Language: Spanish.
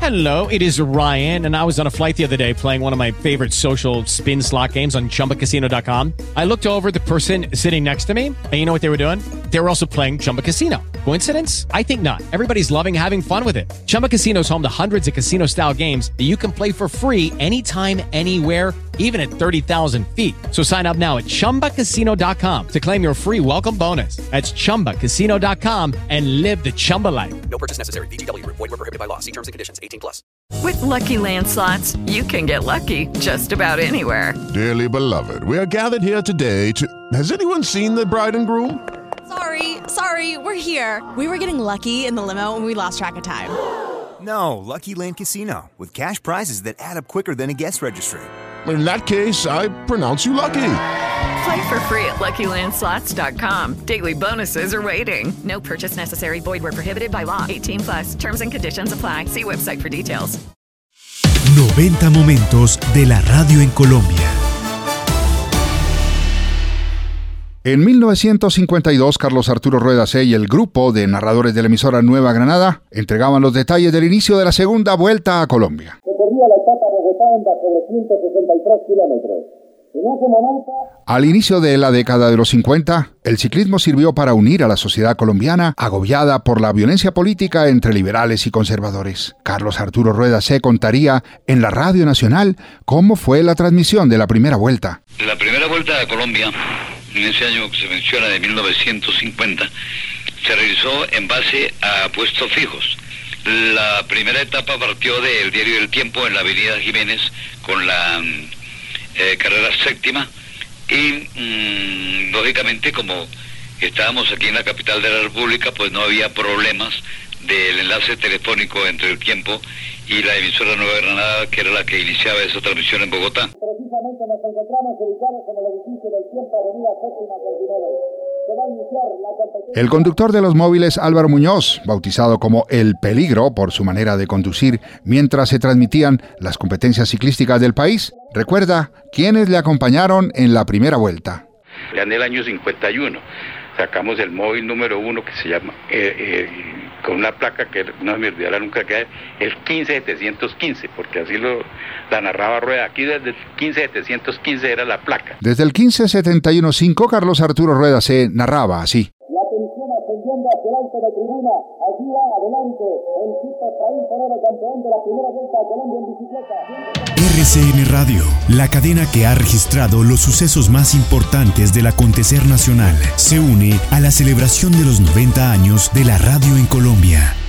Hello, it is Ryan, and I was on a flight the other day playing one of my favorite social spin slot games on ChumbaCasino.com. I looked over at the person sitting next to me, and you know what they were doing? They were also playing Chumba Casino. Coincidence? I think not. Everybody's loving having fun with it. Chumba Casino is home to hundreds of casino-style games that you can play for free anytime, anywhere, even at 30,000 feet. So sign up now at ChumbaCasino.com to claim your free welcome bonus. That's ChumbaCasino.com and live the Chumba life. No purchase necessary. VGW. Void were prohibited by law. See terms and conditions. 18+. With Lucky Land Slots, you can get lucky just about anywhere. Dearly beloved, we are gathered here today to... Has anyone seen the bride and groom? Sorry, we're here. We were getting lucky in the limo and we lost track of time. No, Lucky Land Casino, with cash prizes that add up quicker than a guest registry. In that case, I pronounce you lucky. Play for free at LuckyLandSlots.com. Daily bonuses are waiting. No purchase necessary. Void where prohibited by law. 18+. Terms and conditions apply. See website for details. 90 momentos de la radio en Colombia. En 1952, Carlos Arturo Rueda C. y el grupo de narradores de la emisora Nueva Granada entregaban los detalles del inicio de la segunda vuelta a Colombia. Se corría la etapa bogotana sobre 163 kilómetros. En ese momento... Al inicio de la década de los 50, el ciclismo sirvió para unir a la sociedad colombiana agobiada por la violencia política entre liberales y conservadores. Carlos Arturo Rueda C. contaría en la Radio Nacional cómo fue la transmisión de la primera vuelta. La primera vuelta a Colombia, en ese año que se menciona de 1950, se realizó en base a puestos fijos. La primera etapa partió del diario El Tiempo en la avenida Jiménez con la carrera séptima y lógicamente como estábamos aquí en la capital de la República, pues no había problemas del enlace telefónico entre El Tiempo y la emisora Nueva Granada, que era la que iniciaba esa transmisión en Bogotá. Precisamente nos encontramos ubicados en el edificio del Tiempo, avenida Séptima con Jiménez. Se va a iniciar la competencia. El conductor de los móviles, Álvaro Muñoz, bautizado como El Peligro por su manera de conducir mientras se transmitían las competencias ciclísticas del país, recuerda quiénes le acompañaron en la primera vuelta. Ya en el año 51 sacamos el móvil número 1 que se llama, con una placa que no me olvidará nunca, que es el 15715, porque así la narraba Rueda. Aquí desde el 15715 era la placa. Desde el 15715, Carlos Arturo Rueda C. narraba así. La tensión ascendiendo hacia el alto de tribuna. Allí va adelante el Tito Efraín Forero, campeón de la primera vuelta a Colombia en bicicleta. RCN Radio, la cadena que ha registrado los sucesos más importantes del acontecer nacional, se une a la celebración de los 90 años de la radio en Colombia.